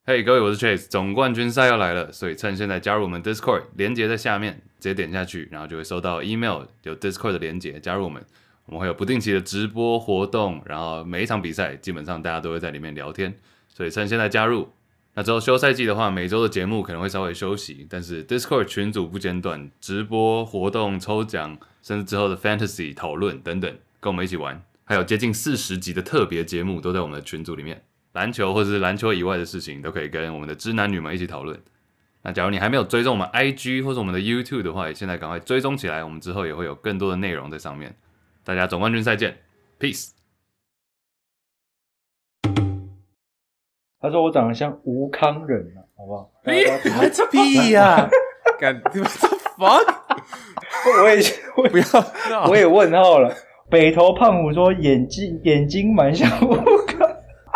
嘿、各位，我是 Chase， 總冠軍賽要來了，所以趁現在加入我們 Discord， 連結在下面，直接點下去，然後就會收到 email 有 Discord 的連結，加入我們會有不定期的直播活動，然後每一場比賽基本上大家都會在裡面聊天，所以趁現在加入。那之後休賽季的話，每周的節目可能會稍微休息，但是 Discord 群組不間斷，直播活動、抽獎，甚至之後的 Fantasy 討論等等，跟我們一起玩，還有接近40集的特別節目都在我們的群組裡面。籃球或是籃球以外的事情都可以跟我們的知男女們一起討論。那假如你還沒有追蹤我們 IG 或是我們的 YouTube 的話，現在趕快追蹤起來，我們之後也會有更多的內容在上面。大家總冠軍賽見 ，Peace。 他說我長得像吳康仁啊，好不好？ 屁呀！幹 what the fuck？ 我也問號了。北投胖虎說眼睛蠻像吳康。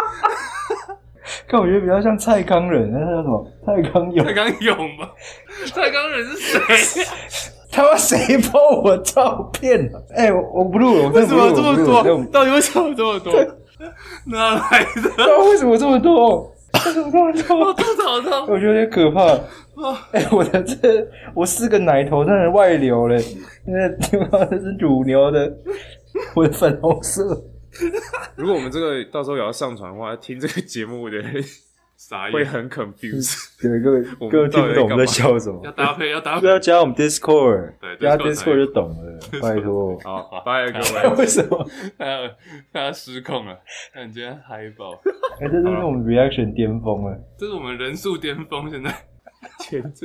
看我覺得比較像蔡康仁，那叫什麼？蔡康永吧？蔡康仁是誰？ 他媽誰 po 我照片啊？我不錄了，我真的不錄了。為什麼這麼多？ 到底為什麼這麼多？ 哪來的？ 为什么這麼多？为什麼這麼多？ 我肚子好痛！ 我覺得有點可怕。我4個奶頭真的外流了，那是乳牛的，我的粉紅色。 如果我們這個到時候也要上傳的話，聽這個節目的人會很 confused。對，各位聽不懂我們在笑什麼。 要搭配， 要加我們 Discord， 加 Discord 就懂了。拜託。 好，拜各位。 為什麼？ 他失控了，看今天嗨爆。 這就是我們 reaction 巔峰了。 這是我們人數巔峰，現在。 前陣。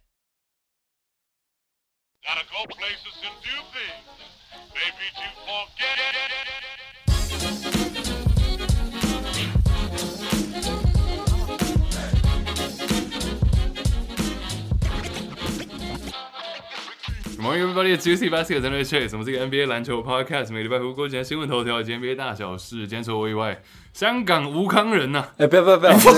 Gotta go places and do things, maybe to forget it. Good morning, everybody. It's Juicy Basket 真的 Chase， 我們是一個 NBA 籃球 podcast， 每個禮拜回顧今天新聞頭條以及 NBA 大小事。今天除了我以外，香港吳康仁吶！ 不要！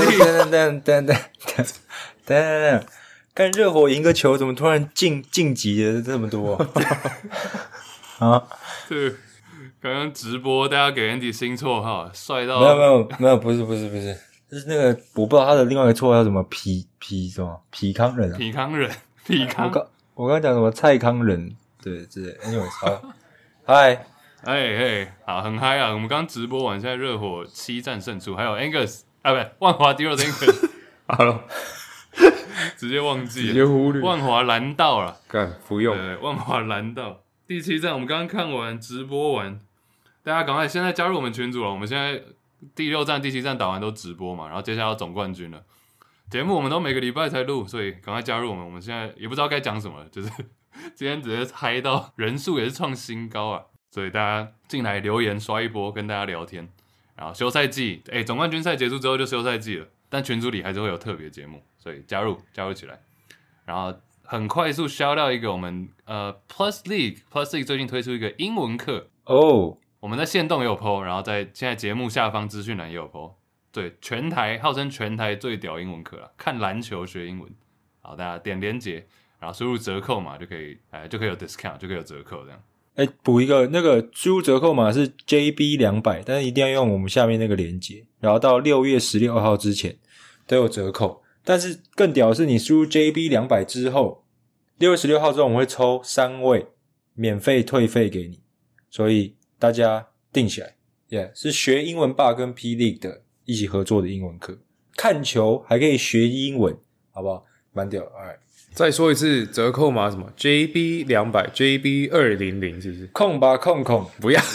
等，看熱火贏個球，怎麼突然晉級了這麼多啊？ 對，剛剛直播大家給 Andy 新綽號，帥到沒有，不是，就是那個我不知道他的另外一個綽號叫什麼皮什麼皮康人啊？ 皮康。 我剛講什麼蔡康仁，對之類。Anyways， 好，嗨， 好，很嗨啊！我們剛直播完，現在熱火7戰勝出，還有 Angus 啊，不，萬華迪羅的 Angus， 好了，直接忘記了， 直接忽略， 萬華藍道了， 幹不用， 萬華藍道第7戰，我們剛剛看完直播完，大家趕快現在加入我們群組了。我們現在第6戰、第7戰打完都直播嘛，然後接下來要總冠軍了。節目我們都每個禮拜才錄，所以趕快加入我們。我們現在也不知道該講什麼了，就是今天直接嗨到人數也是創新高啊！所以大家進來留言刷一波，跟大家聊天。然後休賽季，總冠軍賽結束之後就休賽季了，但群組裡還是會有特別節目，所以加入起來。然後很快速 shout out 一個我們Plus League 最近推出一個英文課哦，我們在限動也有 po， 然後在現在節目下方資訊欄也有 po。對，號稱全台最屌英文課啦，看籃球學英文。好，大家點連結，然後輸入折扣碼就可以有 discount， 就可以有折扣這樣。 補一個，那個輸入折扣碼是 JB200， 但是一定要用我們下面那個連結，然後到6月16號之前都有折扣。但是更屌的是，你輸入 JB200 之後，6月16號之後我們會抽3位免費退費給你，所以大家定起來。是學英文吧跟 P League 的一起合作的英文課，看球還可以學英文，好不好？蠻屌 ，Alright。 再說一次，折扣碼什麼 ？JB200 ，JB200 是不是？ 空不要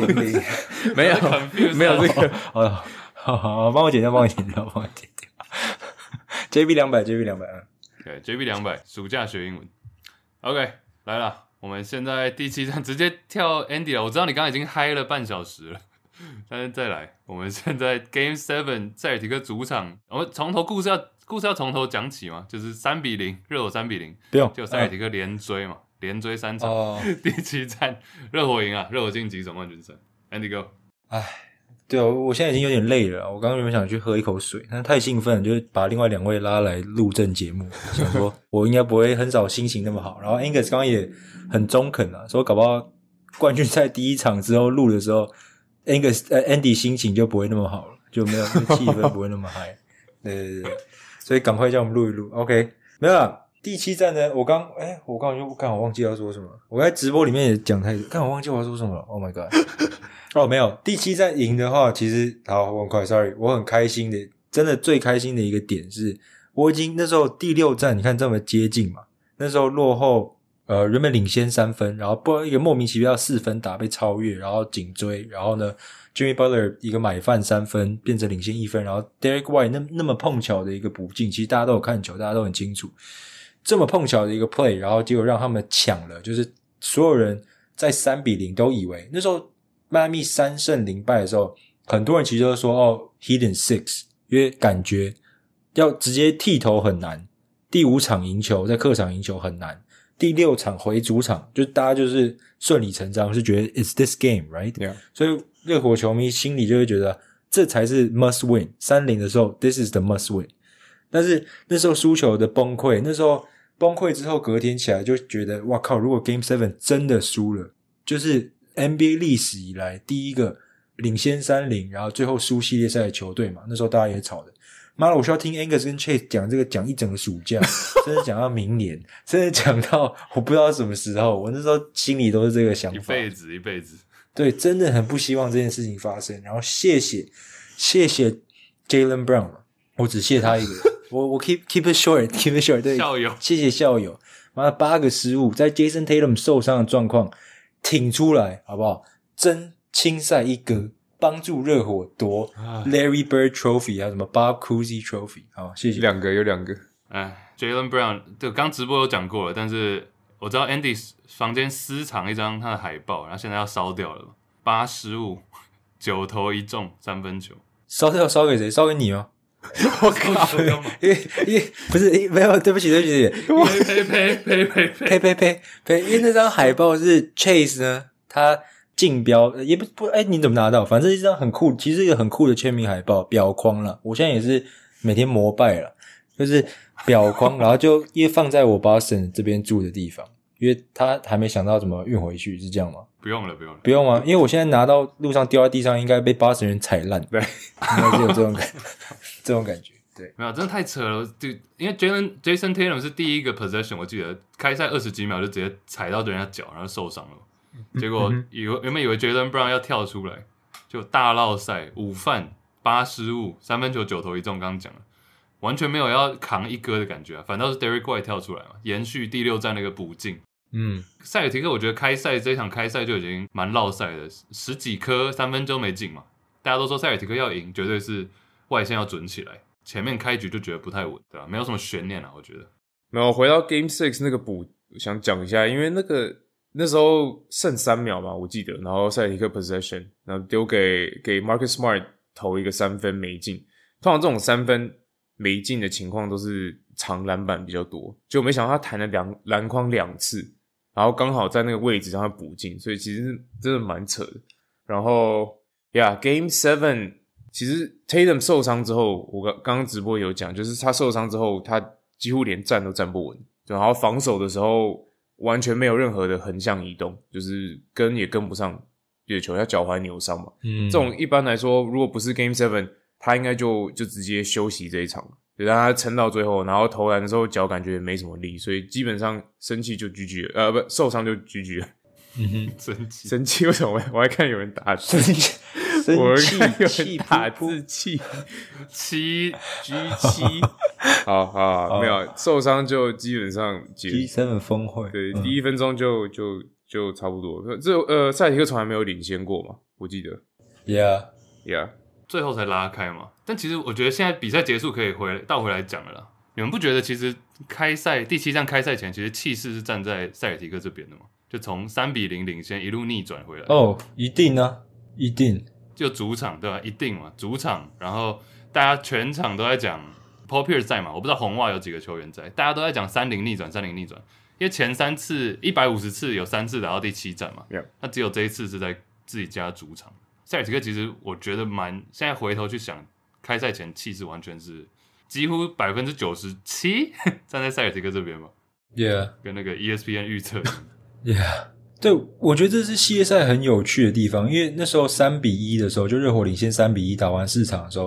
200， 沒有這個。 好，幫我剪掉。JB200， 對 ，JB200， 暑假學英文。OK， 來了，我們現在第7戰直接跳 Andy 了。我知道你剛剛已經嗨了半小時了。但是再來，我們現在 Game 7塞爾提克主場，我們從頭故事要從頭講起嘛，就是3-0，熱火3-0， 不用， 就塞爾提克連追嘛，連追3場，第7戰熱火贏啊，熱火晉級總冠軍賽 ，Andy Go。 對啊，我現在已經有點累了，我剛剛原本想去喝一口水，但是太興奮了，就把另外2位拉來錄正節目，想說我應該不會很少心情那麼好。然後 Angus 剛剛也很中肯啊，說搞不好冠軍賽第1場之後錄的時候。Andy 心情就不會那麼好了，就沒有氣氛不會那麼嗨。 對，所以趕快叫我們錄一錄。OK， 沒有啦。第7戰呢，我剛我忘記要說什麼。我在直播裡面也講太多，我忘記我要說什麼了。Oh my god！ 沒有。第7戰贏的話，其實我很快 ，sorry， 我很開心的，真的最開心的一個點是，我已經那時候第6戰，你看這麼接近嘛，那時候落後，原本領先3分，然後不知道一個莫名其妙4分打被超越，然後緊追，然後呢 ，Jimmy Butler 一個買飯3分變成領先1分，然後 Derek White 那麼碰巧的一個補進，其實大家都有看球，大家都很清楚。這麼碰巧的一個 play， 然後結果讓他們搶了，就是所有人在3-0都以為那時候邁阿密3勝0敗的時候，很多人其實都說Heat in 6，因為感覺要直接剃頭很難，第5場贏球在客場贏球很難，第6場回主場就大家就是順理成章是覺得 It's this game right， yeah. 所以熱火球迷心裡就會覺得這才是 must win， 3-0的時候 This is the must win， 但是那時候輸球的崩潰，那時候崩潰之後隔天起來就覺得哇靠，如果 Game 7 真的輸了，就是 NBA 歷史以來第一個領先3-0然後最後輸系列賽的球隊嘛，那時候大家也吵的，媽的我需要聽 Angus 跟 Chase 講這個講一整個暑假甚至講到明年甚至講到我不知道什麼時候，我那時候心裡都是這個想法， 一輩子對，真的很不希望這件事情發生，然後謝謝 Jaylen Brown， 我只謝他一個人我 keep it short 對， 校友， 謝謝校友，媽的8個失誤，在 Jason Tatum 受傷的狀況挺出來，好不好？真青賽一哥，幫助熱火奪 Larry Bird Trophy， 還有什麼 Bob Cousy Trophy， 好，謝謝。 有兩個。 Jaylen Brown， 對，剛直播有講過了，但是我知道 Andy 房間私藏一張他的海報，然後現在要燒掉了，8失誤，9投1中3分球， 燒掉燒給誰？燒給你嗎？ 我靠！ 因為不是沒有，對不起，呸，因為那張海報是 Chase 呢，他競標也不你怎麼拿到？反正是一張很酷，其實是一個很酷的簽名海報，裱框啦。我現在也是每天膜拜啦，就是裱框，然後就因為放在我 Boston 這邊住的地方，因為他還沒想到怎麼運回去，是這樣嗎？ 不用了不用嗎？因為我現在拿到路上掉在地上，應該被Boston人踩爛，對，應該是有這種感覺，對， 沒有，真的太扯了，因為 Jason Tatum 是第一個 possession， 我記得開賽20幾秒就直接踩到人家腳，然後受傷了，結果原本以為 Jaylen Brown 要跳出來，就大烙賽5犯8失誤3分球9投1中，剛剛講了，完全沒有要扛一哥的感覺啊，反倒是 Derek White 跳出來嘛，延續第6戰那個補進。塞爾提克我覺得這一場開賽就已經蠻烙賽的，10幾顆3分都沒進嘛，大家都說塞爾提克要贏，絕對是外線要準起來，前面開局就覺得不太穩，對吧？沒有什麼懸念啊，我覺得。沒有， 回到 Game 6那個補，想講一下，因為那時候剩3秒嘛，我記得，然後塞爾提克 possession， 然後丟給 Marcus Smart 投一個3分沒進，通常這種3分沒進的情況都是長籃板比較多，結果沒想到他彈了籃筐2次。然後剛好在那個位置讓他補進，所以其實真的蠻扯的。然後 Game 7其實 Tatum 受傷之後，我剛剛直播有講，就是他受傷之後，他幾乎連站都站不穩，然後防守的時候完全沒有任何的橫向移動，就是跟也跟不上月球，他腳踝扭傷嘛。這種一般來說，如果不是 Game 7，他應該就直接休息這一場。就讓他撐到最後，然後投籃的時候腳感覺沒什麼力，所以基本上生氣就 GG 了，不受傷就 GG 了。生氣为什麼？我還看有人打字，我看有人打字氣G7，好，沒有受傷就基本上 G7峰會， 對，第1分鐘就差不多。這塞爾提克從來沒有領先過嘛，我記得。Yeah。 最後才拉開嘛，但其實我覺得現在比賽結束可以倒回來講了啦。你們不覺得其實第7戰開賽前，其實氣勢是站在塞爾提克這邊的嗎？就從3-0領先一路逆轉回來。 一定啊，一定。 就主場對吧？一定嘛，主場。然後大家全場都在講 Paul Pierce 在嘛，我不知道紅襪有幾個球員在，大家都在講3-0逆轉，因為前3次150次有3次打到第7戰嘛，那只有這一次是在自己家主場。塞爾提克其實我覺得現在回頭去想，開賽前氣勢完全是幾乎97%站在塞爾提克這邊嘛。跟那個 ESPN 預測。 對，我覺得這是系列賽很有趣的地方，因為那時候3-1的時候，就熱火領先3-1打完4場的時候，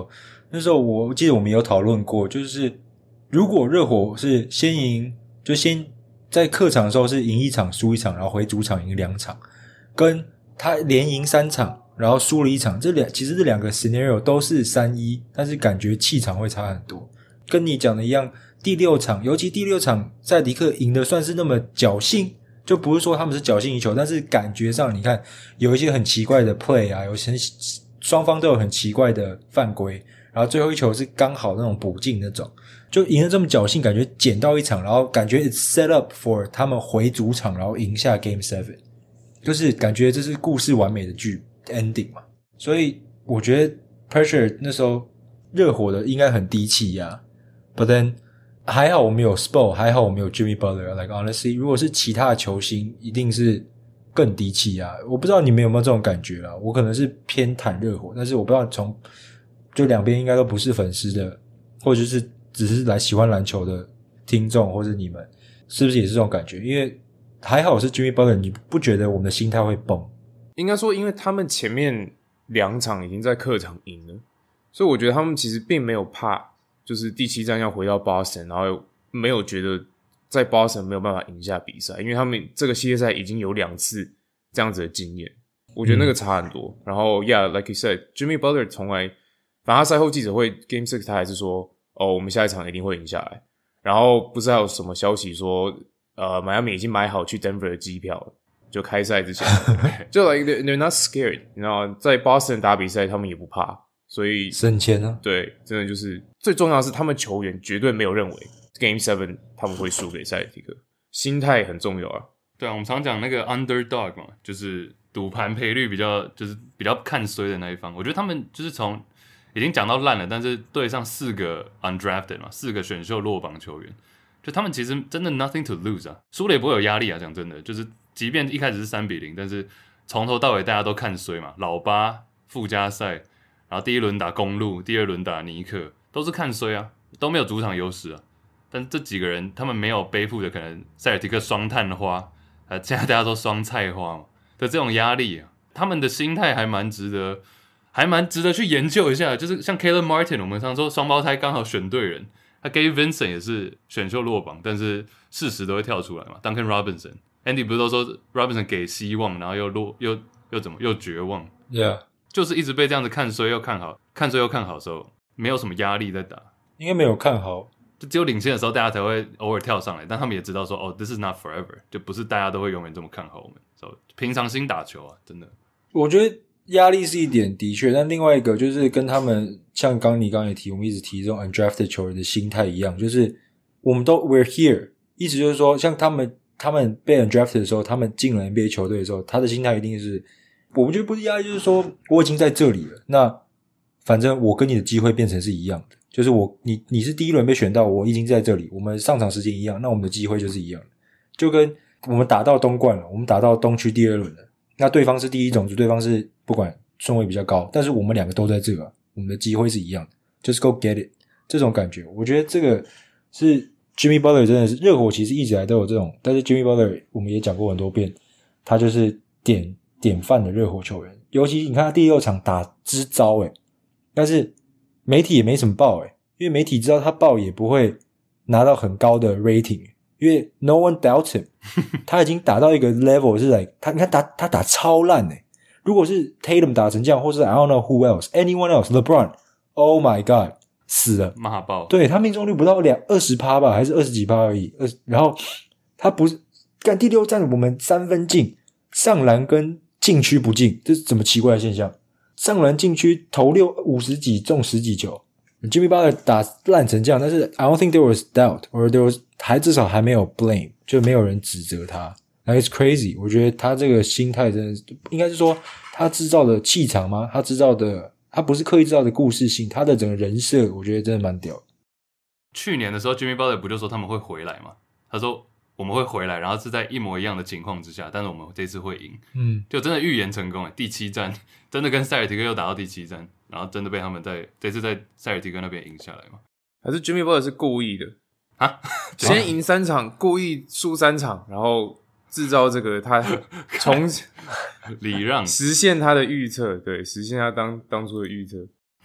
那時候我記得我們有討論過，就是如果熱火是先贏，就先在客場的時候是贏一場輸一場，然後回主場贏2場，跟他連贏3場然後輸了1場，其實這兩個 scenario 都是3-1，但是感覺氣場會差很多。跟你講的一樣，第6場，尤其第6场塞爾提克贏的算是那麼僥倖，就不是說他們是僥倖贏球，但是感覺上你看有一些很奇怪的 play 啊，有些雙方都有很奇怪的犯規，然後最後一球是剛好那種補進那種，就贏得這麼僥倖，感覺撿到1場，然後感覺 it's set up for 他們回主場然後贏下 Game 7， 就是感覺這是故事完美的劇 ending 嘛。所以我覺得 pressure 那時候熱火的應該很低氣壓，but then 還好我們有 Spo， 還好我們有 Jimmy Butler，like honestly 如果是其他的球星一定是更低气压。我不知道你们有没有这種感覺啦，我可能是偏袒熱火，但是我不知道就两邊應該都不是粉絲的，或者是只是來喜歡籃球的聽眾，或者你們是不是也是這種感覺？因為還好是 Jimmy Butler， 你不覺得我們的心態會崩？ 應該說因為他們前面2場已經在客場贏了，所以我覺得他們其實並沒有怕，就是第7戰要回到 Boston， 然後沒有覺得在 Boston 沒有辦法贏下比賽，因為他們這個系列賽已經有2次這樣子的經驗，我覺得那個差很多。然後 like you said， Jimmy Butler 從來，反正他賽後記者會 Game 6他還是說，我們下一場一定會贏下來。然後不是還有什麼消息說Miami 已經買好去 Denver 的機票了，就開賽之前就 like they're not scared， 你知道嗎？在 Boston 打比賽他們也不怕，所以省錢啊。 對，真的就是最重要的是他们球員絕對沒有認為 Game 7他們會輸給塞爾提克，心態很重要啊。 對啊，我們常講那個 underdog 嘛，就是賭盤賠率比較看衰的那一方。我覺得他們就是從已經講到爛了，但是對上4個 undrafted 嘛，4個選秀落榜球員，就他們其實真的 nothing to lose 啊，輸了也不會有壓力啊。講真的，就是即便一開始是3-0，但是從頭到尾大家都看衰嘛，老八附加賽，然後第一輪打公鹿，第二輪打尼克，都是看衰啊，都沒有主場優勢啊。但這幾個人他們沒有背負的可能塞爾提克雙探花，現在大家都雙菜花嘛的這種壓力啊，他們的心態還蠻值得去研究一下。就是像 Caleb Martin， 我們常說雙胞胎剛好選對人，他 Gabe Vincent 也是選秀落榜，但是事實都會跳出來嘛。Duncan Robinson、Andy 不是都說 Robinson 給希望，然後又絕望 ，Yeah， 就是一直被這樣子看衰又看好，看衰又看好的時候，沒有什麼壓力在打， 應該沒有看好。 就只有領先的時候，大家才會偶爾跳上來，但他們也知道說，this is not forever， 就不是大家都會永遠這麼看好我們。所以平常心打球啊，真的。我覺得壓力是一點，的確，但另外一個就是跟他們像你剛剛也提，我們一直提這種 undrafted 球員的心態一樣，就是我們都 we're here， 意思就是說，像他們被 undrafted 的時候，他們進了 NBA 球隊的時候，他的心態一定是，我覺得不是壓力，就是說我已經在這裡了，那反正我跟你的機會變成是一樣的。就是你是第一輪被選到，我已經在這裡，我們上場時間一樣，那我們的機會就是一樣的，就跟我們打到東冠了，我們打到東區第2輪了，那對方是第一種子，對方是不管順位比較高，但是我們兩個都在這個，我們的機會是一樣的，就是 go get it 這種感覺。我覺得這個是 Jimmy Butler 真的是熱火其實一直來都有這種，但是 Jimmy Butler 我們也講過很多遍，他就是典範的熱火球員，尤其你看他第6場打之糟但是媒體也沒什麼報因為媒體知道他報也不會拿到很高的 rating， 因為 no one doubts him， 他已經打到一個 level 是你看他打超爛如果是 Tatum 打成這樣，或是 I don't know who else anyone else LeBron oh my god 死了罵爆， 對，他命中率不到 20% 吧，還是20幾%而已，然後他不是幹第6戰我們3分進，上籃跟禁區不進，這是怎麼奇怪的現象？上籃禁區投50幾中10幾球，Jimmy Butler 打爛成這樣，但是 I don't think there was doubt or there was 至少還沒有 blame， 就沒有人指責他。Like it's crazy， 我覺得他這個心態真的是，應該是說他製造的氣場嗎？他製造的，他不是刻意製造的故事性，他的整個人設，我覺得真的蠻屌的。 去年的時候 Jimmy Butler 不就說他們會回來嗎？他說我們會回來，然後是在一模一樣的情況之下，但是我們這次會贏。就真的預言成功第7戰真的跟塞爾提克又打到第7戰，然後真的被他們這次在塞爾提克那邊贏下來嗎？ 還是 Jimmy Butler 是故意的啊？ 先贏3場，故意輸3場，然後製造這個他從禮讓實現他的預測，對，實現他當初的預測。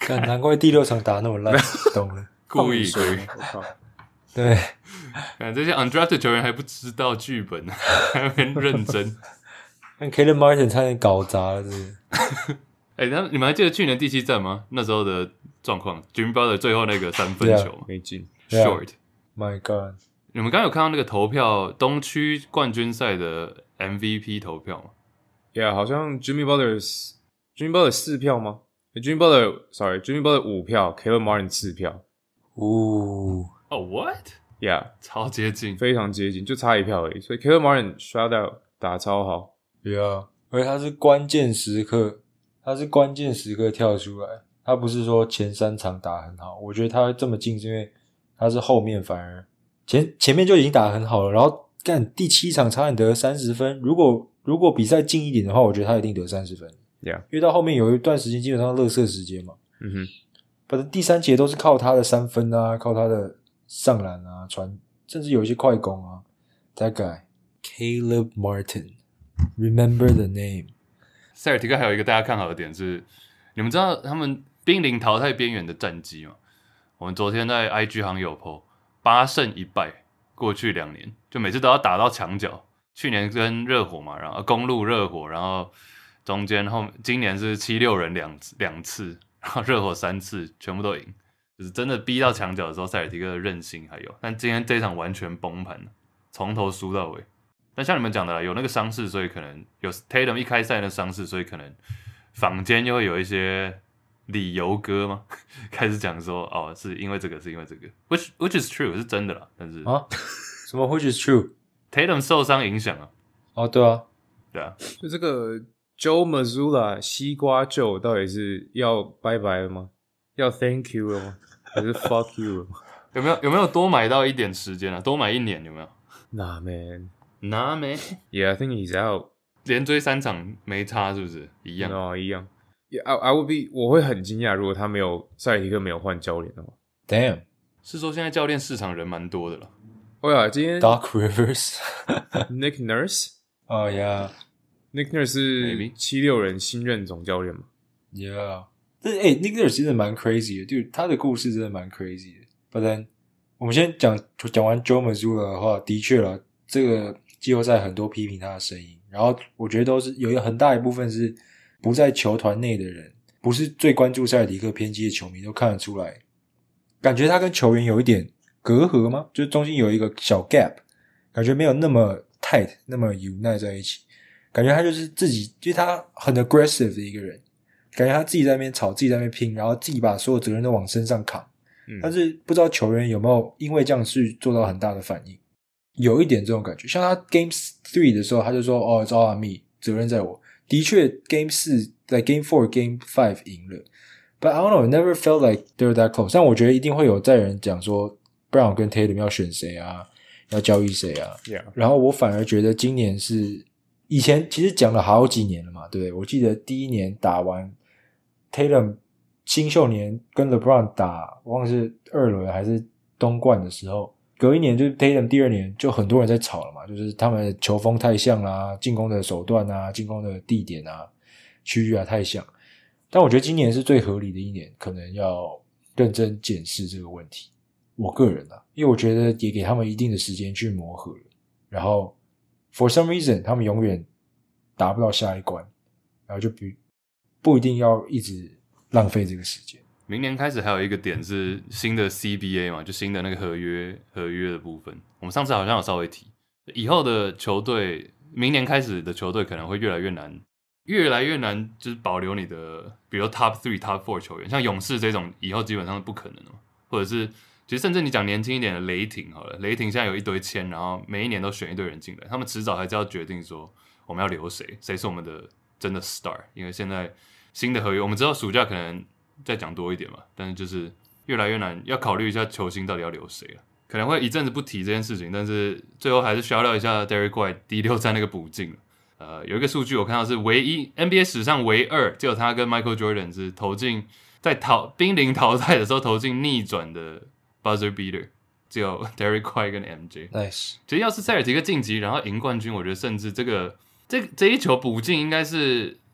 難怪第6場打那麼爛，懂了， 故意。 我靠， 對， 看這些 undrafted 球員還不知道劇本，還有點認真。 看 Caleb Martin 差點搞砸了，是不是？ 那你們還記得去年第7戰嗎？那時候的狀況 ，Jimmy Butler 最後那個3分球沒進 ，short。My God！ 你們剛剛有看到那個投票東區冠軍賽的 MVP 投票嗎 ？Yeah， 好像 Jimmy Butler 4票嗎？Jimmy Butler 5票 ，Caleb Martin 4票。 What？ Yeah， 超接近， 非常接近，就差1票而已。所以 Caleb Martin shout out 打超好。 Yeah， 而且他是關鍵時刻跳出來，他不是說前3場打很好。我覺得他會這麼近，是因為他是後面反而前面就已經打得很好了，然後第7場差點得30分。如果比賽近一點的話，我覺得他一定得30分。 Yeah， 因為到後面有一段時間基本上垃圾時間嘛。反正第3節都是靠他的3分啊，靠他的上籃啊、傳，甚至有一些快攻啊。That guy Caleb Martin。Remember the name。 塞爾提克還有一個大家看好的點是，你們知道他們瀕臨淘汰邊緣的戰績嗎？我們昨天在 IG 好像有 po 8勝1敗，過去2年就每次都要打到牆角。去年跟熱火嘛，然後公鹿熱火，然後中間今年是7-6人兩次，然後熱火3次全部都贏，就是真的逼到牆角的時候，塞爾提克的韌性還有，但今天這一場完全崩盤了，從頭輸到尾。但像你們講的啦，有那個傷勢，所以可能有 Tatum 一開賽的傷勢，所以可能坊間又會有一些理由歌嘛，開始講說是因為這個，是因為這個 ，which is true 是真的啦，但是什麼 which is true？ Tatum 受傷影響啊。 對啊， 就這個 Joe Mazzulla 西瓜Joe 到底是要拜拜了嗎？要 thank you 了嗎？還是 fuck you 了嗎？ 有沒有多買到一點時間啊？多買1年有沒有？ Nah man。 Yeah, I think he's out. 連追3場沒差，是不是一樣？ 一樣。I would be， 我會很驚訝，如果塞爾提克沒有換教練的話。 Damn， 是說現在教練市場人蠻多的了。 今天 Doc Rivers、Nick Nurse。Oh yeah，Nick Nurse 是76人新任總教練嘛 ？Yeah， 但是Nick Nurse 真的蠻 crazy 的，就他的故事真的蠻 crazy 的。But then， 我們先講完 Joe Mazzulla 的話，的確啦，這個季後賽很多批評他的聲音，然後我覺得都是有一個很大一部分是不在球團內的人，不是最關注塞爾提克偏激的球迷都看得出來，感覺他跟球員有一點隔阂嗎？就是中間有一個小 gap， 感覺沒有那麼 tight， 那麼 unite 在一起，感覺他就是自己，就是他很 aggressive 的一個人，感覺他自己在那邊吵，自己在那邊拼，然後自己把所有責任都往身上扛，但是不知道球員有沒有因為這樣去做到很大的反應。有一點這種感覺，像他 Game 3的時候，他就說it's all on me， 責任在我。的確 Game 4在 Game 4 Game 5贏了 But I don't know, never felt like they were that close。 但我覺得一定會有在人講說 Brown 跟 Tatum 要選誰啊，要交易誰啊。然後我反而覺得今年是以前其實講了好幾年了嘛，對不對？我記得第1年打完 Tatum 新秀年跟 LeBron 打，我忘了是2輪還是東冠的時候，隔1年就是 Tatum 第2年就很多人在吵了嘛，就是他們的球風太像啦，進攻的手段啊，進攻的地點啊，區域啊太像。但我覺得今年是最合理的1年，可能要認真檢視這個問題。我個人啊，因為我覺得也給他們一定的時間去磨合了，然後 for some reason 他們永遠達不到下一關，然後就不一定要一直浪費這個時間。 明年開始還有一個點是新的 CBA 嘛，就新的那個合約的部分。我們上次好像有稍微提，以後的球隊，明年開始的球隊可能會越来越難，就是保留你的，比如 Top 3、Top 4球員，像勇士這種以後基本上是不可能的嘛。或者是，其實甚至你講年輕一點的雷霆好了，雷霆現在有一堆簽，然後每一年都選一堆人進來，他們遲早還是要決定說我們要留誰是我們的真的 star。因為現在新的合約，我們知道暑假可能再講多一點嘛，但是就是越來越難，要考慮一下球星到底要留誰了。可能會一陣子不提這件事情，但是最後還是 shout out 一下 Derrick White 第6戰那個補進。有一個數據我看到是唯一 NBA 史上唯二，只有他跟 Michael Jordan 是投進在瀕臨淘汰的時候投進逆轉的 buzzer beater， 只有 Derrick White 跟 MJ。Nice。其實要是塞爾提克晉級然後贏冠軍，我覺得甚至這一球補進應該是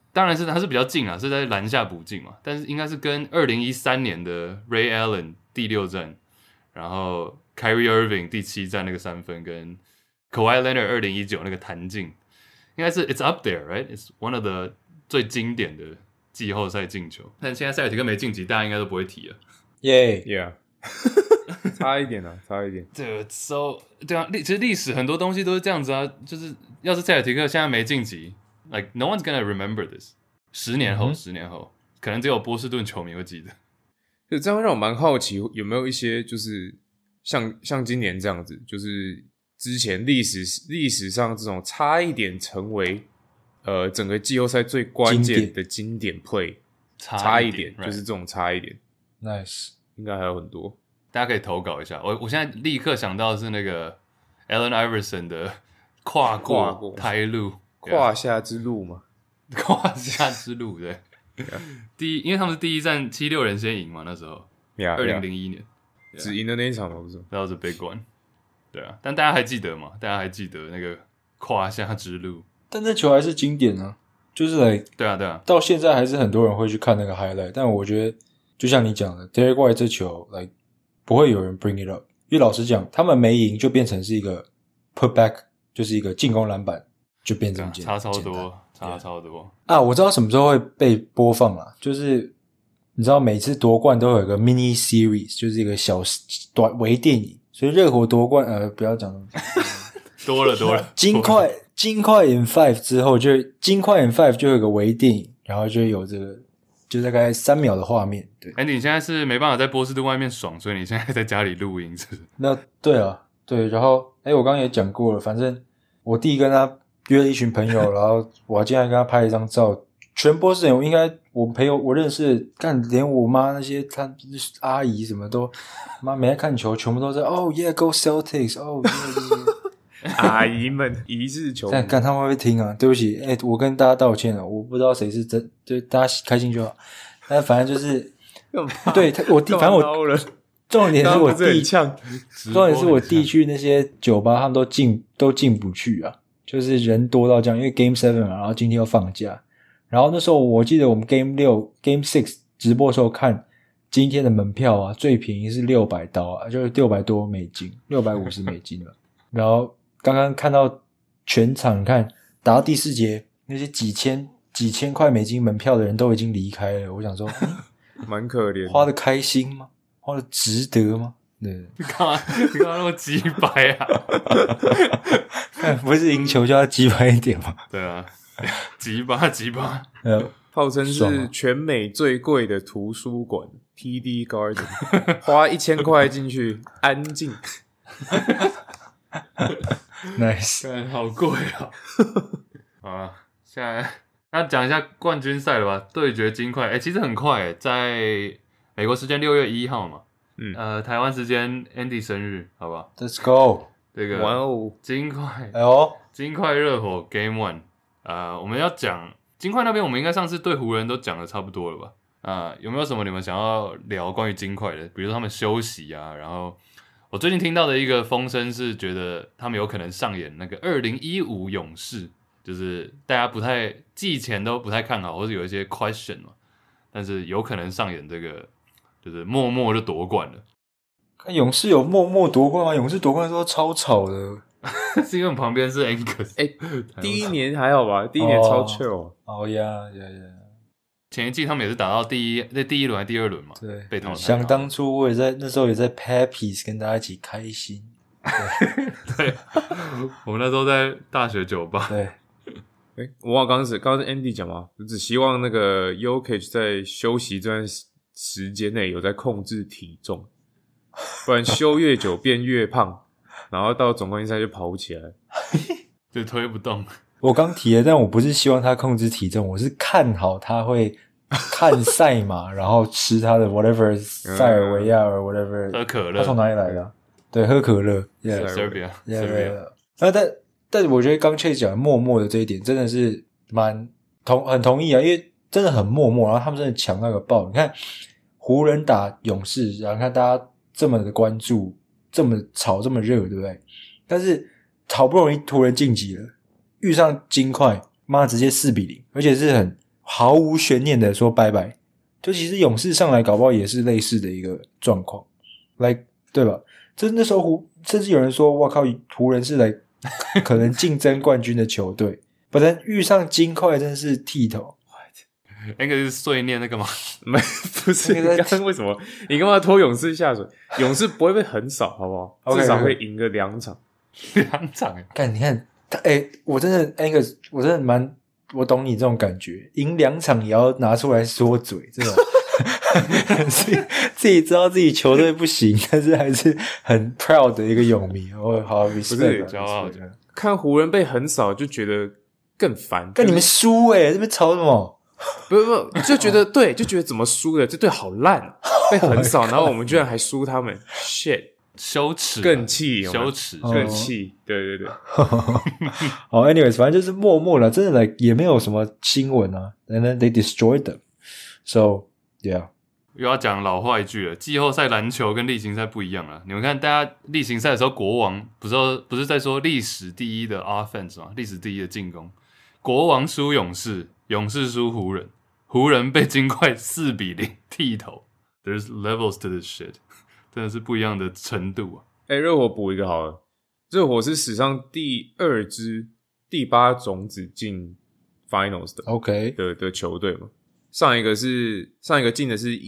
當然是他是比較近啊，是在籃下補進嘛，但是應該是跟2013年的 Ray Allen 第6戰，然後 Kyrie Irving 第7戰那個3分，跟 Kawhi Leonard 2019那個彈進，應該是 It's up there, right? It's one of the 最經典的季後賽進球。但現在塞爾提克沒晉級，大家應該都不會提了。 Yeah， 差一點啊，差一點。 對 ，so 對啊，其實歷史很多東西都是這樣子啊，就是要是塞爾提克現在沒晉級 ，like no one's gonna remember this。10年後，10年後，可能只有波士頓球迷會記得。 就這樣讓我蠻好奇，有沒有一些就是像今年這樣子，就是之前歷史上這種差一點成為整個季後賽最關鍵的經典 play， 差一點就是這種差一點。 Nice， 應該還有很多， 大家可以投稿一下。我現在立刻想到的是那個 Allen Iverson 的跨過胎路， 胯下之路嘛， 胯下之路对。因為他們是第一戰7-6人先贏嘛，那時候2001年只贏的那一場嘛，不是 ？That was a big one。對啊，但大家還記得嘛？大家還記得那個胯下之路？ 但那球還是經典啊，就是对啊， 到現在還是很多人會去看那個 highlight。但我覺得，就像你講的 ，Derrick White 這球不會有人 bring it up， 因為老實講，他們沒贏就變成是一個 put back， 就是一個進攻籃板就變這麼簡單， 差超多。 啊！我知道什麼時候會被播放啦，就是你知道每次奪冠都有一個 mini series， 就是一個小短微電影，所以熱火奪冠不要講多了， 金塊 in 5之後金塊 in 5就有一個微電影，然後就有這個就大概3秒的畫面。對 ，Andy 你現在是沒辦法在波士頓外面爽，所以你現在在家裡錄音是不是？ 那對啊，对，然後我剛剛也講過了，反正我弟跟他約了一群朋友，然後我今天還跟他拍了一張照，全波士頓應該我朋友我認識，連我媽那些她阿姨什麼都媽沒在看球，全部都在Oh yeah go Celtics Oh yeah 阿姨們一日球迷， 看他们会不会聽啊？对不起，我跟大家道歉了，我不知道誰是真，就大家開心就好。但反正就是對我弟，反正我重點是我弟，重點是我弟去那些酒吧，他們都進不去啊。就是人多到這樣，因為 Game 7嘛，然後今天又放假，然後那時候我記得我們 Game 6直播的時候看今天的門票啊，最便宜是$600啊，就是$600多$650了。然後剛剛看到全場，你看打到第4節，那些幾千塊美金門票的人都已經離開了，我想說， 蠻可憐， 花得開心嗎？花得值得嗎？對， 你幹嘛那麼雞掰啊？ 不是贏球就要雞掰一點嗎？ 對啊，雞巴， 號稱是全美最貴的圖書館 TD Garden， 花1000塊進去，安靜。 Nice， 好貴啊！好啊，現在那講一下冠軍賽了吧？對決金塊，其實很快，在美國時間6月1號嘛。台灣時間 Andy 生日，好不好 ？Let's go！ 這個哇哦， 金塊，金塊熱火 Game 1，我們要講金塊那邊，我們應該上次對湖人都講的差不多了吧？有沒有什麼你們想要聊關於金塊的？比如說他們休息啊，然後我最近聽到的一個風聲是覺得他們有可能上演那個2015勇士，就是大家季前都不太看好，或者有一些 question 嘛，但是有可能上演這個。就是默默就奪冠了。 看勇士有默默奪冠嗎？勇士奪冠的時候超吵的， 是因為旁邊是 Angus。 第一年還好吧？第一年超 chill。 呀。 前一季他們也是打到第一輪還是第2輪嘛？ 對， 被淘汰。 想當初我那時候也在 Pappies 跟大家一起開心。 對，我們那時候在大學酒吧。 對。 我忘了剛剛是 Andy 講嘛，我只希望那個 Jokic 在休息這段時間內有在控制體重，不然休越久變越胖，然後到總冠軍賽就跑不起來， 就推不動。 我剛提了，但我不是希望他控制體重，我是看好他會看賽馬，然後吃他的 whatever 塞爾維亞 or whatever， 喝可樂。他從哪裡來的？對，喝可樂。 Serbia。 但我覺得剛 Chase 講的默默的這一點真的是很同意啊，因為真的很默默，然後他們真的強那個爆。你看湖人打勇士，然後看大家這麼的關注，這麼吵，這麼熱，對不對？但是好不容易湖人晉級了，遇上金塊，媽直接4-0，而且是很毫無懸念的說拜拜。就其實勇士上來搞不好也是類似的一個狀況，對吧？這那時候甚至有人說，哇靠，湖人是來可能競爭冠軍的球隊，不然遇上金塊真是剃頭。 那個是碎念那個嗎？ 沒，不是。你剛剛為什麼？你幹嘛拖勇士下水？勇士不會被橫掃，好不好？ Okay, 至少會贏個2場。 2場幹，你看他，我真的 Angus， 我真的我懂你這種感覺，贏2場也要拿出來說嘴，這種自己知道自己球隊不行，但是還是很 proud 的一個勇迷。我好 respect， 驕傲的。 看湖人被橫掃就覺得更煩。 跟你們輸這邊吵什麼？ 不，就覺得對，就觉得怎麼輸的？這隊好爛，被橫掃，然後我們居然還輸他們 ，shit， 羞恥， 更氣， 羞恥， 更氣，對。 好 ，anyways， 反正就是默默了，真的也沒有什麼新聞啊。And then they destroyed them. So yeah， 又要講老話一句了，季後賽籃球跟例行賽不一樣了。你們看，大家例行賽的時候，國王不是在說歷史第一的 offense 嗎？歷史第一的進攻，國王輸勇士。勇士輸湖人，湖人被金塊4-0剃頭。There's levels to this shit， 真的是不一樣的程度啊！ 熱火補一個好了，熱火是史上第2支第8種子進 Finals 的 ，OK 的球隊嘛。上一個进的是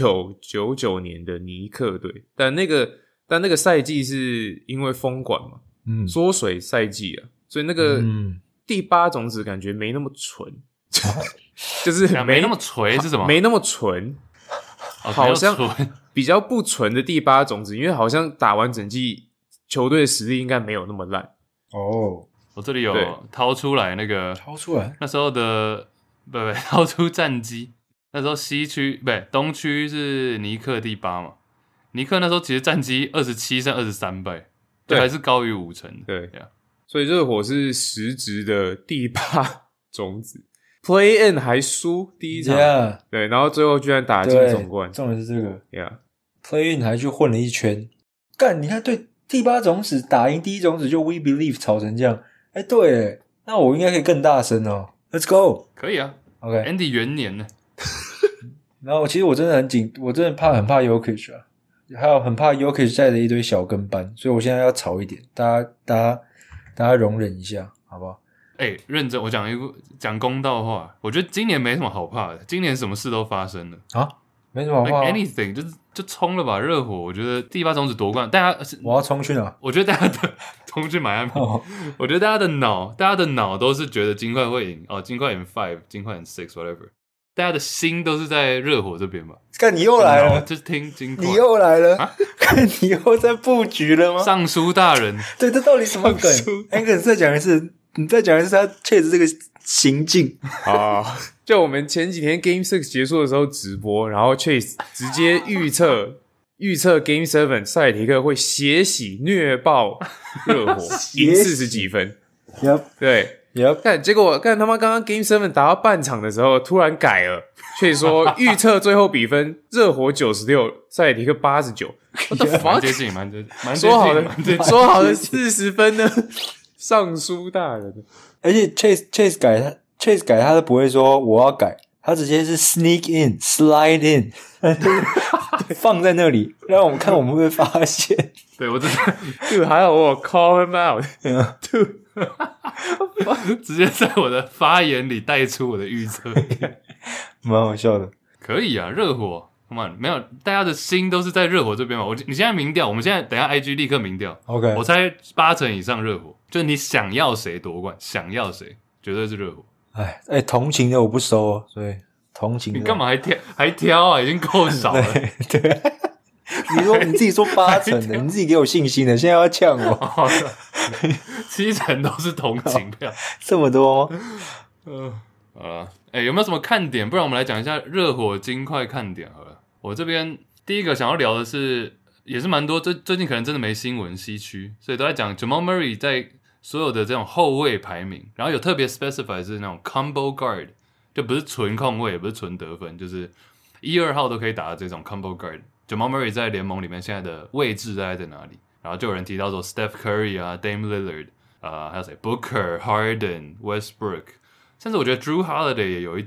1999年的尼克隊，但那個賽季是因為封管嘛，縮水賽季啊，所以那個第8種子感覺沒那麼純。就是沒那麼純是什麼？ 沒那麼純，好像比較不純的第8種子，因為好像打完整季球隊的實力應該沒有那麼爛哦。 我這裡有掏出來那個，那時候的不掏出戰績，那時候西區東區是尼克第8嘛，尼克那時候其實戰績27勝23敗，對，還是高於50%， 對，所以熱火是實質的第8種子。Play in 還輸第一場， yeah. 對，然後最後居然打進總冠， 重點是這個 ，Yeah， Play in 還去混了一圈，幹，你看對第8種子打贏第1種子就 We Believe 吵成這樣，對，那我應該可以更大聲哦 ，Let's go， 可以啊 ，OK，Andy 元年呢， 然後其實我真的我真的很怕 Jokic 啊，還有很怕 Jokic 帶着一堆小跟班，所以我現在要吵一點，大家容忍一下，好不好？ 認真，我講公道話，我覺得今年沒什麼好怕的，今年什麼事都發生了啊， 沒什麼好怕 ，anything 就衝了吧，熱火，我覺得第8種子奪冠，大家我要衝去哪？ 我覺得大家的衝去邁阿密，我覺得大家的腦都是覺得金塊會贏，金塊贏5，金塊贏6 whatever， 大家的心都是在熱火這邊吧？ 看你又來了， 就是聽金塊， 你又來了啊？看你又在布局了嗎？ 尚書大人， 對，這到底什麼梗？Angus 再講一次。你再講一次他確實這個行徑啊！就我們前幾天 Game 6結束的時候直播，然後 Chase 直接預測 Game 7塞爾提克會血洗虐爆熱火，贏40幾分。 Yep， 對 ，Yep。 結果他媽剛剛 Game 7打到半場的時候，突然改了，Chase 說預測最後比分熱火96，塞爾提克89。 蠻接近，蠻接近， 說好的40分呢？尚書大人， 而且 Chase 改他都不會說我要改，他直接是 sneak in slide in 放在那裡，讓我們看我們會不會發現。 對，我真的 ，Dude， 還好我有 call him out， Dude， 直接在我的發言裡帶出我的預測， 蠻好笑的。 可以啊，熱火。沒有，大家的心都是在熱火這邊嘛。你現在民調，我們現在等一下 IG 立刻民調 ，OK， 我猜80%以上熱火，就是你想要誰奪冠，想要誰，絕對是熱火。 同情的我不收哦，所以同情的你幹嘛還挑啊？已經夠少了。 對，你自己說80%的，你自己給我信心的，現在要嗆我 ，7成都是同情票， 這麼多嗎？好了，有沒有什麼看點？不然我們來講一下熱火金塊看點好了。我這邊第一個想要聊的是，也是蠻多，最近可能真的沒新聞，西區，所以都在講 Jamal Murray 在所有的這種後衛排名，然後有特別 specify 是那種 combo guard， 就不是純控衛，也不是純得分，就是1、2號都可以打的這種 combo guard。Jamal Murray 在聯盟裡面現在的位置大概在哪裡？然後就有人提到說 Steph Curry 啊 ，Dame Lillard 還有誰 Booker、Harden、Westbrook， 甚至我覺得 Drew Holiday 也有一點。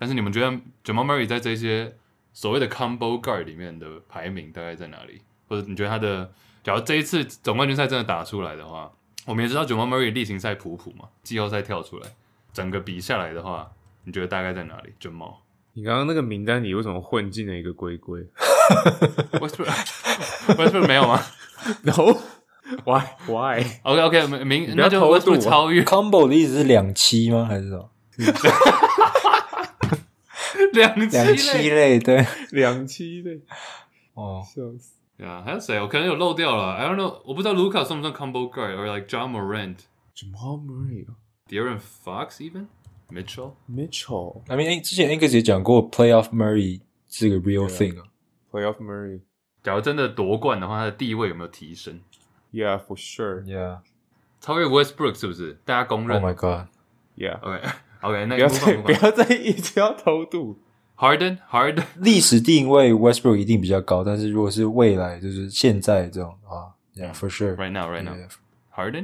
但是你們覺得 Jamal Murray 在這些所謂的 combo guard 裡面的排名大概在哪裡？或者你覺得他的，假如這一次總冠軍賽真的打出來的話，我們也知道 Jamal Murray 例行賽普普嘛，季後賽跳出來，整個比下來的話，你覺得大概在哪裡 ？Jamal， 你剛剛那個名單裡為什麼混進了一個龜龜 ？Westbrook 沒有嗎 ？No，Why？ OK， 那就 Westbrook 超越 combo 的意思是2-7嗎？還是什麼？2-7類，對 ，2-7類。 哦， 笑死。 对啊，還有誰？我可能有漏掉了。I don't know， 我不知道 Luka 算不算 combo guard， or like John Morant、Jamal Murray、De'Aaron Fox even、Mitchell。 I mean， 之前 Angus 也講過 ，Playoff Murray 是個 real thing 啊。 Playoff Murray， 假如真的奪冠的話，他的地位有沒有提升 ？Yeah, for sure. Yeah， 超越 Westbrook 是不是？大家公認。 Oh my god。Yeah。 OK， 那不要再一直要偷渡。 Harden 歷史定位 Westbrook 一定比較高，但是如果是未來就是現在這種啊 ，Yeah for sure right now Harden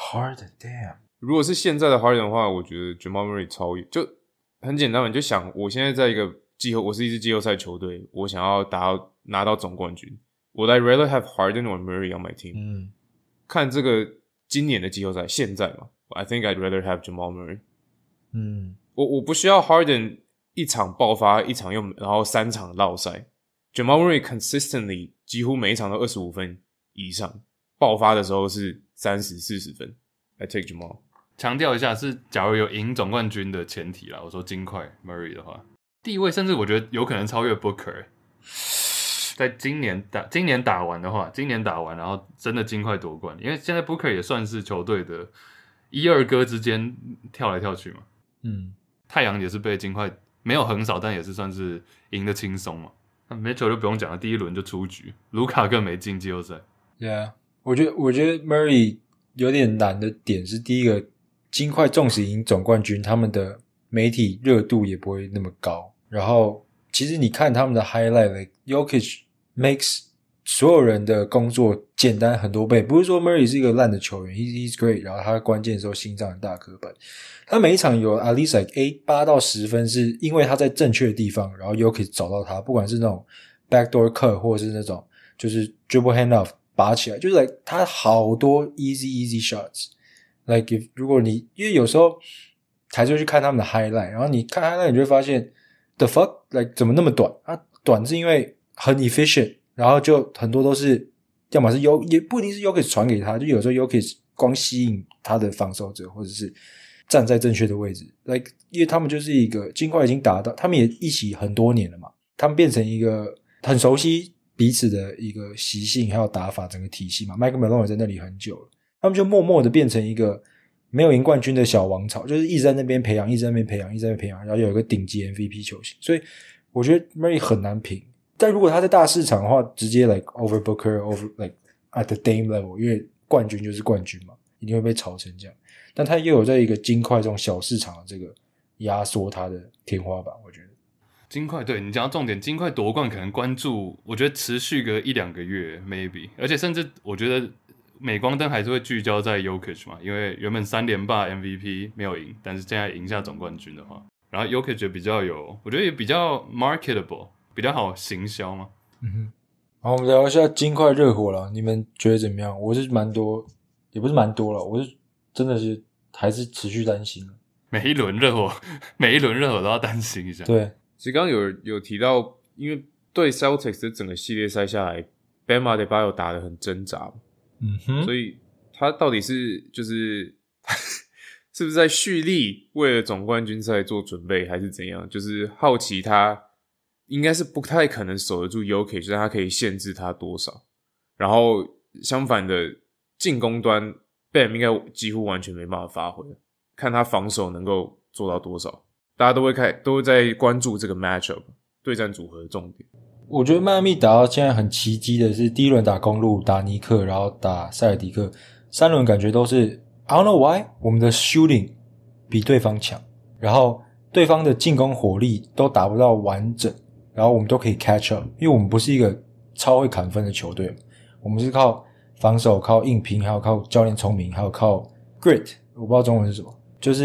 damn。 如果是現在的 Harden 的話，我觉得 Jamal Murray 超越，就很簡單嘛，你就想我現在在一個我是一支季後賽球隊，我想要拿到總冠軍，我 I'd rather have Harden or Murray on my team。看這個今年的季後賽，現在嘛 ，I think I'd rather have Jamal Murray。我不需要 Harden 一場爆發，一場然後3場落賽。Jamal Murray consistently 幾乎每一場都25分以上，爆發的時候是30-40分。I take Jamal。 強調一下，是假如有贏總冠軍的前提啦。我說金塊 Murray 的話，地位甚至我覺得有可能超越 Booker。在今年打完的話，然後真的金塊奪冠，因為現在 Booker 也算是球隊的1、2哥之間跳來跳去嘛。太陽也是被金塊沒有橫掃，但也是算是贏得輕鬆嘛。那 Mitchell 就不用講了，第一輪就出局，盧卡更沒進季後賽。 Yeah， 我覺得 Murray 有點難的點是，第一個，金塊縱使贏總冠軍，他們的媒體熱度也不會那麼高。然後，其實你看他們的 highlight，like Jokic makes 所有人的工作簡單很多倍。不是說 Murray 是一個爛的球員 ，he's great， 然後他關鍵的時候心臟很大顆板。他每一場有 at least like 8到10分，是因為他在正確的地方，然後 Jokic 找到他，不管是那種 backdoor cut 或者是那種就是 dribble handoff 拔起來，就是 like 他好多 easy shots。like if 如果你因為有時候還是會去看他們的 highlight， 然後你看 highlight 你就會發現 the fuck like 怎麼那麼短？短是因為很 efficient， 然後就很多都是要麼是也不一定是 Jokic 傳給他，就有時候 Jokic 光吸引他的防守者，或者是站在正確的位置 like 因為他們就是一個金塊已經打到他們也一起很多年了嘛，他們变成一個很熟悉彼此的一個習性還有打法整個體系嘛。 Mike Malone 也在那裡很久了，他們就默默的变成一個沒有贏冠軍的小王朝，就是一直在那邊培養，然後有一個頂級 MVP 球星。所以我覺得 Murray 很難評，但如果他在大市場的話，直接 like over Booker over like at the Dame level， 因為冠軍就是冠軍嘛，一定會被炒成這樣。但他又有在一個金塊這種小市場的這個壓縮他的天花板，我覺得金塊對你講到重點，金塊奪冠可能關注，我覺得持續個1-2個月 maybe， 而且甚至我覺得鎂光燈還是會聚焦在 Jokic 嘛，因為原本3連霸 MVP 沒有贏，但是現在贏下總冠軍的話，然後 Jokic 比較我覺得也比較 marketable， 比較好行銷嘛。 好，我們聊一下金塊熱火了，你們覺得怎麼樣？我是蠻多，也不是蠻多了，我是真的是還是持續擔心。 每一輪熱火都要擔心一下。 對， 其實剛剛有提到，因為對 Celtics 的整個系列賽下來 Bam Adebayo 打得很掙扎，所以他到底是就是是不是在蓄力為了總冠軍賽做準備，還是怎樣？就是好奇他應該是不太可能守得住 Jokic， 但他可以限制他多少。然後相反的進攻端 Bam 應該幾乎完全沒辦法發揮，看他防守能夠做到多少。大家都會在關注這個 matchup 對戰組合的重點。 我覺得邁阿密打到現在很奇蹟的是，第一輪打公鹿，打尼克，然後打塞爾迪克，3輪感覺都是 I don't know why 我們的 shooting 比對方強，然後對方的進攻火力都打不到完整，然後我們都可以 catch up， 因為我們不是一個超會砍分的球隊，我們是靠防守，靠硬拼，還有靠教練聰明，還有靠 grit， 我不知道中文是什麼，就是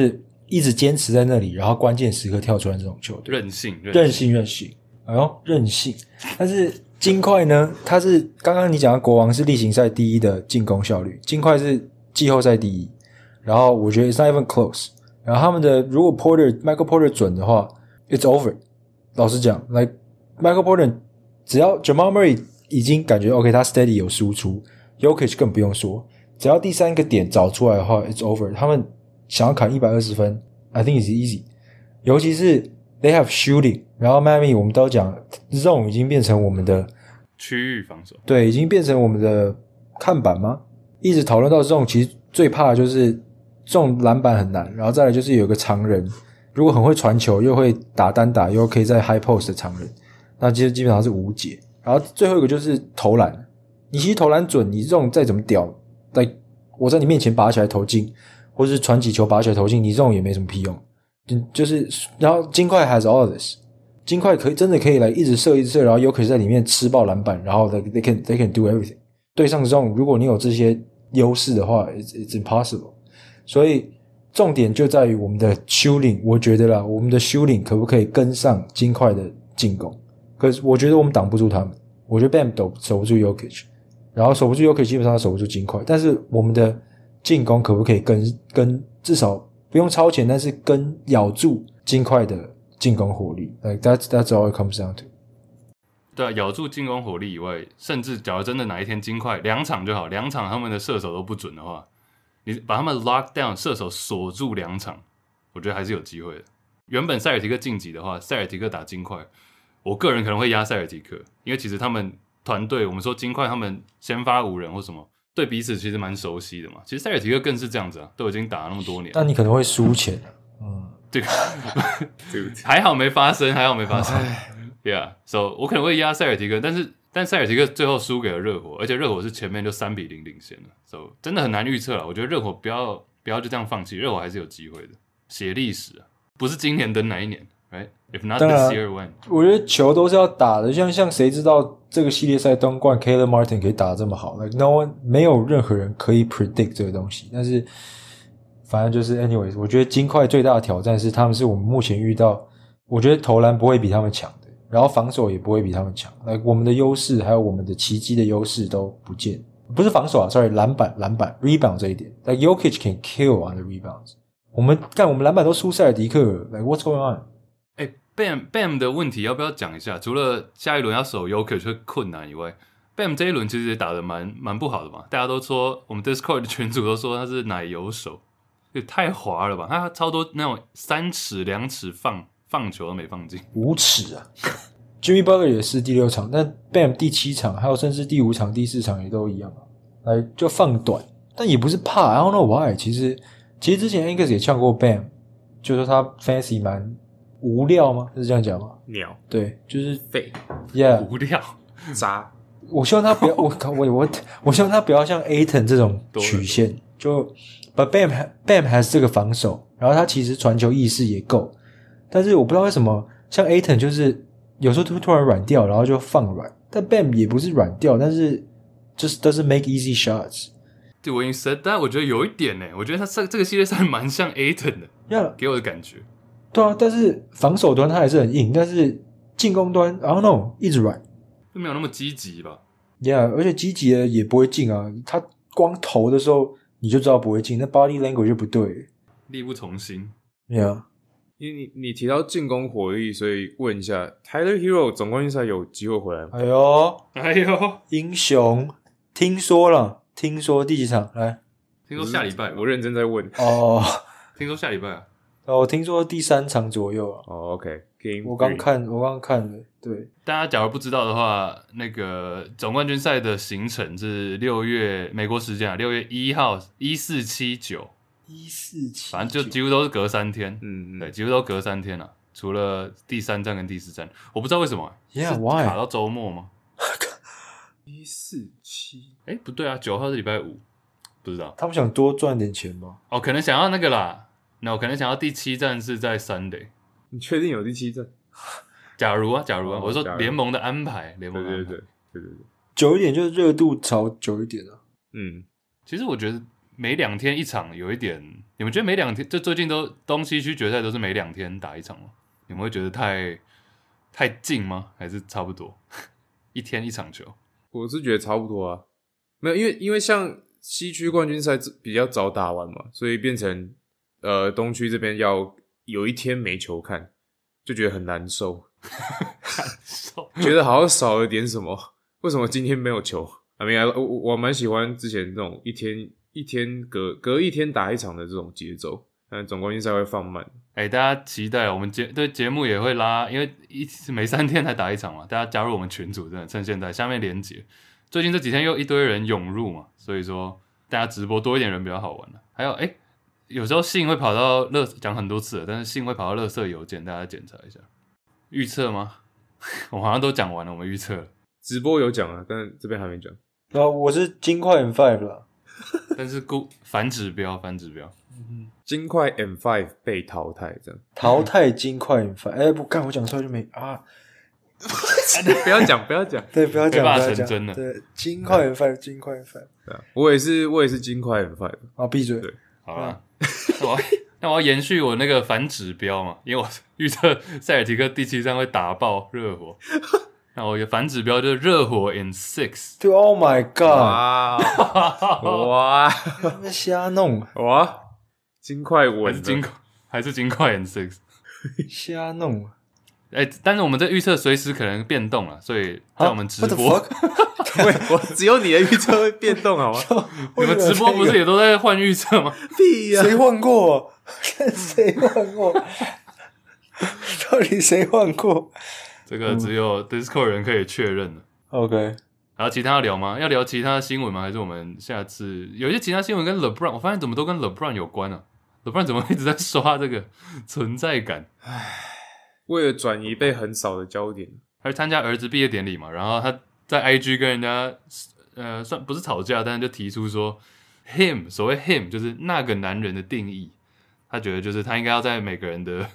一直堅持在那裡，然後關鍵時刻跳出來這種球隊。 任性。 哎呦，任性！但是金塊呢？他是刚剛你講的國王是例行賽第一的進攻效率，金塊是季後賽第一。然後我覺得 it's not even close。然後他們的如果 Michael Porter 準的話 ，it's over。老實講 ，like Michael Porter 只要 Jamal Murray 已經感覺 OK， 他 steady 有輸出 ，Jokic 更不用說，只要第三個點找出來的話 ，it's over。他們想要砍120分 ，I think it's easy。尤其是 they have shooting， 然後 Miami 我們都講 zone 已經變成我們的區域防守， 對，已經變成我們的看板嗎？一直討論到 zone， 其實最怕的就是中籃板很難，然後再來就是有個長人，如果很會傳球，又會打單打，又可以在 high post 的長人，那基本上是無解。然後最後一個就是投籃，你其實投籃準，你這種再怎麼屌，我在你面前拔起來投進，或是傳幾球拔起來投進，你這種也沒什麼屁用。就是然後金塊 has all of this， 金塊真的可以来一直射，然後有可能在裡面吃爆籃板，然後 they can do everything。對上这種，如果你有這些優勢的話 ，it's impossible。所以重點就在於我們的 shooting， 我覺得啦，我們的 shooting 可不可以跟上金塊的進攻？可是我覺得我們擋不住他們，我覺得 Bam 守不住 Jokic， 然後守不住 Jokic 基本上守不住金塊，但是我們的進攻可不可以跟至少不用超前，但是跟咬住金塊的進攻火力 ，like that's all it comes down to。 对啊，咬住进攻火力以外，甚至假如真的哪一天金塊2場就好，2場他們的射手都不準的話，你把他們 lock down 射手鎖住2場，我覺得還是有機會的。原本塞爾提克晉級的話，塞爾提克打金塊，我個人可能會壓塞爾提克，因為其實他們團隊，我們說金塊他們先發5人或什麼，對彼此其實蠻熟悉的嘛。其實塞爾提克更是這樣子啊，都已經打了那麼多年。 但你可能會輸錢， 這個還好沒發生，Yeah， so 我可能會壓塞爾提克，但塞爾提克最後輸給了熱火，而且熱火是前面就3-0領先了 ，so 真的很難預測了。我覺得熱火不要就這樣放棄，熱火還是有機會的，寫歷史啊，不是今年等哪一年 ，right？ If not this year, when？ 我覺得球都是要打的，像誰知道這個系列賽東冠 Caleb Martin 可以打得這麼好 ？Like no one， 沒有任何人可以 predict 這個東西，但是反正就是 anyways， 我覺得金塊最大的挑戰是他們是我們目前遇到，我覺得投籃不會比他們強的。然後防守也不會比他們強，我們的優勢還有我們的奇蹟的優勢都不見，不是防守啊 ，sorry， 籃板 rebound 這一點 ，Jokic can kill on the rebounds。我們籃板都輸塞爾迪克了 ，what's going on？ Bam 的問題要不要講一下？除了下一輪要守 Jokic 會困難以外 ，Bam 這一輪其實也打得蠻不好的嘛，大家都說我們 Discord 的群組都說他是奶油手，也太滑了吧，他超多那種3尺2尺放球都沒放進 ，5尺啊！Jimmy Butler 也是第6場，但 Bam 第7場，還有甚至第5場、第4場也都一樣啊。就放短，但也不是怕 ，I don't know why。其實之前 Angus 也嗆過 Bam，就說他 fancy 蠻無料嗎？是這樣講嗎？ 鳥， 對，就是廢 ，Yeah， 無料渣。 我希望他不要，我希望他不要像 Ayton 這種曲線，就 But Bam has 這個防守，然後他其實傳球意識也夠。但是我不知道為什麼，像 Ayton 就是有時候突然軟掉，然後就放軟。但 Bam 也不是軟掉，但是just doesn't make easy shots。 对，我已經 said， 但我覺得有一點呢，我覺得他這個系列賽蠻像 Ayton 的， Yeah， 給我的感覺。 對啊，但是防守端他還是很硬，但是進攻端 I don't know 一直軟， 就沒有那麼積極吧。 Yeah， 而且積極的也不會進啊，他光投的時候你就知道不會進，那 body language 就不對， 力不從心。 Yeah。 因為你提到進攻火力，所以問一下 Tyler Hero 總冠軍賽有機會回來嗎？ 哎呦，英雄，聽說第幾場？來， 聽說下禮拜， 我認真在問。 哦， 聽說下禮拜啊？ 我聽說第3場左右啊。 哦 ，OK， 我剛看了，對。 大家假如不知道的話，那個總冠軍賽的行程是6月美國時間啊，6月1號1479。 1479， 反正就幾乎都是隔3天，對，幾乎都隔3天啊，除了第3站跟第4站，我不知道為什麼，Yeah， why？ 卡到周末嗎？147，不對啊，9號是禮拜5，不知道， 他們想多賺點錢嗎？ 哦，可能想要那個啦，我可能想要第7站是在 Sunday， 你確定有第7站？ 假如啊，我說聯盟的安排，對， 對， 久一點就是熱度潮久一點啊。 其實我覺得每2天一場有一點，你們覺得每2天就最近都東西區決賽都是每2天打一場嗎？你們會覺得太近嗎？還是差不多一天一場球？ 我是覺得差不多啊，沒有，因為像西區冠軍賽比較早打完嘛，所以變成東區這邊要有一天沒球看，就覺得很難受，覺得好像少了點什麼。為什麼今天沒有球？I mean, 我蠻喜歡之前這種一天隔一天打一場的這種節奏，但總冠軍賽會放慢。 大家期待我們對節目也會拉，因為每3天才打一场嘛，大家加入我們群組，真的趁現在下面連結。最近這幾天又一堆人湧入嘛，所以說大家直播多一點人比較好玩。還有有時候信會跑到講很多次了，但是信會跑到垃圾郵件，大家檢查一下。預測嗎？我好像都講完了，我們預測了。 直播有講啊，但這邊還沒講。 我是金塊 M5 啦， 但是反指標。 金塊 M5 被淘汰，這樣淘汰金塊 M5。不幹，我講出來就沒啊。 不要講， 对，不要講， 成真的。 對，金塊 M5，金塊 M5。 对啊，我也是金塊 M5。 啊，閉嘴。 對， 好啦，那我要延續我那個反指標嘛，因為我預測塞爾提克第7戰會打爆熱火。那我的反指標就是熱火 in 6。 對 ，Oh my God！ 哇， 瞎弄哇，金塊穩， 還是金塊 in 6， 瞎弄。 但是我們這預測隨時可能變動了，所以在我們直播， 我只有你的預測會變動好嗎？ 你們直播不是也都在換預測嗎？ 屁呀！誰換過？誰換過？到底誰換過？ 這個只有 Discord 人可以確認了。 OK， 然後其他要聊嗎？要聊其他的新聞嗎？還是我們下次有一些其他新聞跟 LeBron， 我發現怎麼都跟 LeBron 有關啊 ？LeBron 怎麼一直在刷這個存在感？ 為了轉移被橫掃的焦點， 他去參加兒子畢業典禮嘛，然後他在 IG 跟人家算不是吵架，但是就提出說 him 所謂 him 就是那個男人的定義，他覺得就是他應該要在每個人的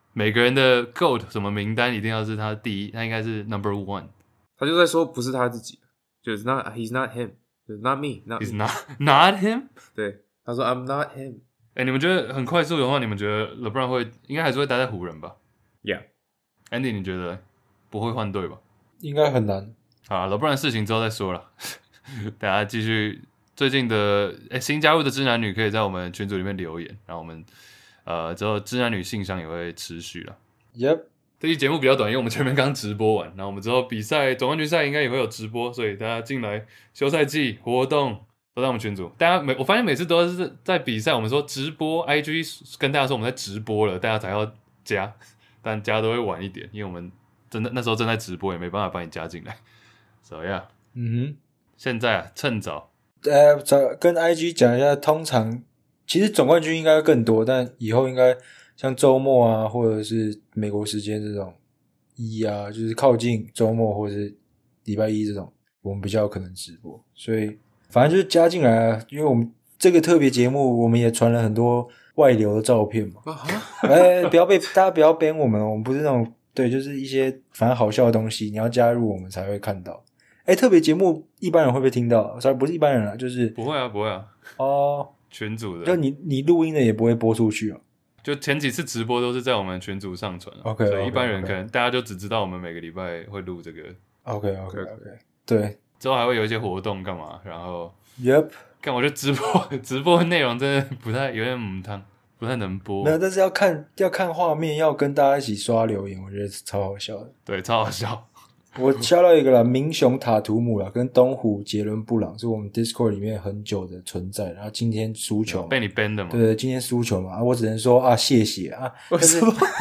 GOAT 什麼名單一定要是他第一，他應該是 number1。 他就在說不是他自己，就是 he's not him， 就是 not me，he's not him。 对，他說 I'm not him。 你們覺得很快速的話，你們覺得 LeBron 應該還是會待在湖人吧？ Yeah。Andy， 你覺得不會換隊吧？ 應該很難。 好 ，LeBron 的事情之後再說了。大家繼續最近的新加入的知男女可以在我們群組裡面留言，然後我們之後知男女信箱也會持續了。 Yep。 這期節目比較短，因為我們前面剛直播完，然後我們之後比賽總冠軍賽應該也會有直播，所以大家進來休賽季活動都在我們群組。大家我發現每次都是在比賽，我們說直播 IG 跟大家說我們在直播了，大家才要加，但加都會晚一點，因為我們真的那時候正在直播，也沒辦法把你加進來。So yeah， 現在趁早， 跟 IG 講一下，通常其實總冠軍應該更多，但以後應該像周末啊，或者是美國時間這種就是靠近周末或者是禮拜一這種，我們比較有可能直播。所以反正就是加進來啊，因為我們這個特別節目，我們也傳了很多外流的照片嘛。不要大家不要 ban 我們，我們不是那種對，就是一些反正好笑的東西，你要加入我們才會看到。特別節目一般人會不會聽到？不是一般人啦，就是不會啊。群組的， 就你錄音的也不會播出去啊。 就前幾次直播都是在我們群組上傳 ，OK， 所以一般人可能大家就只知道我們每個禮拜會錄這個 ，OK， 對， 之後還會有一些活動幹嘛，然後 Yep， 看我覺得直播內容真的不太有點母湯，不太能播。 沒有，但是要看畫面，要跟大家一起刷留言，我覺得超好笑的。 對，超好笑。 我敲到一個啦，明雄塔圖姆啦，跟東湖杰倫布朗是我們 Discord 裡面很久的存在，然後今天輸球被你 ban 的嘛？ 對，今天輸球嘛，我只能說謝謝啊。但是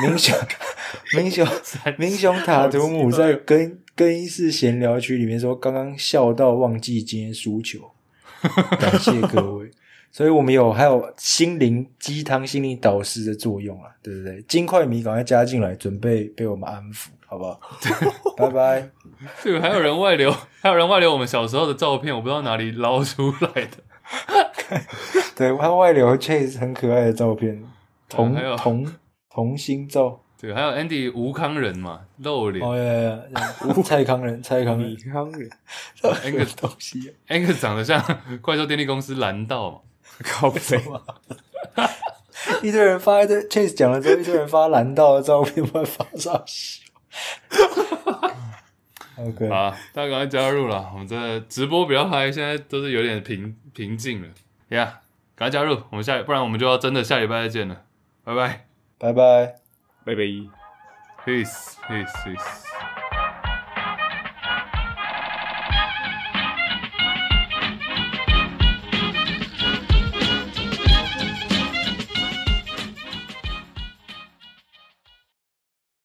明雄塔圖姆在更衣室閒聊區裡面說，剛剛笑到忘記今天輸球，感謝各位。所以我們還有心靈雞湯、心靈導師的作用啊，對不對？金塊迷趕快加進來，準備被我們安撫，好不好？拜拜。 這個還有人外流我們小時候的照片，我不知道哪裡撈出來的。 對，他外流 Chase 很可愛的照片，同心照。 对，還有 Andy 吳康仁嘛，露臉。 蔡康仁。 Angus 東西。 Angus 長得像怪獸電力公司藍道嘛。 靠北， 一堆人發一堆 Chase 講了之後，一堆人發藍道的照片，不然發啥笑？OK， 好，大家趕快加入了，我們這直播比較嗨，現在都是有點平靜了。Yeah， 趕快加入，我們不然我們就要真的下禮拜再見了，拜拜， 拜拜， 拜拜。 peace。